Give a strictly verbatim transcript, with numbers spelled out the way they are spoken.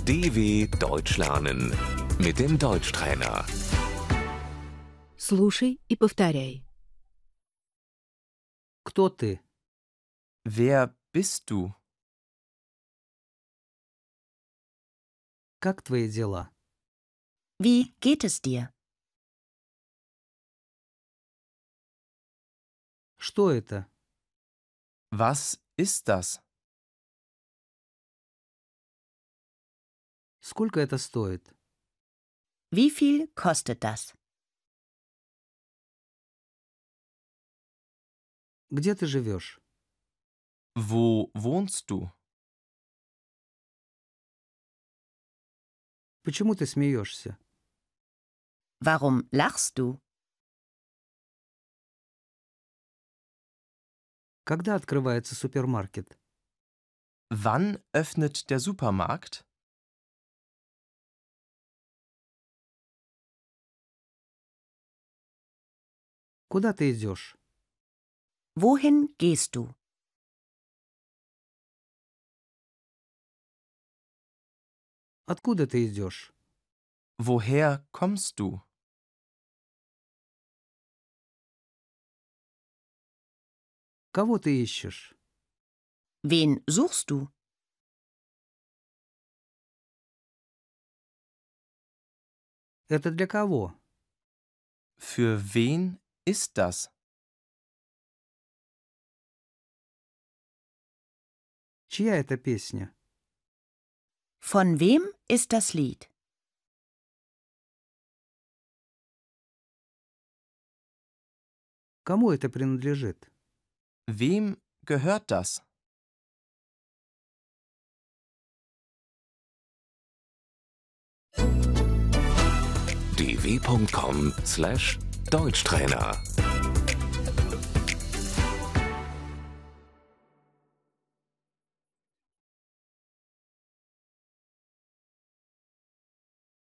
D W Deutsch lernen mit dem Deutschtrainer. Слушай и повторяй. Кто ты? Wer bist du? Как твои дела? Wie geht es dir? Что это? Was ist das? Сколько это стоит? Wie viel kostet das? Где ты живешь? Wo wohnst du? Почему ты смеешься? Warum lachst du? Когда открывается супермаркет? Wann öffnet der Supermarkt? Куда ты идешь? Wohin gehst du? Откуда ты идешь? Woher kommst du? Кого ты ищешь? Wen suchst du? Это для кого? Für wen ist das? Чья это песня? Von wem ist das Lied? Кому это принадлежит? Wem gehört das? d w punkt com slash Deutschtrainer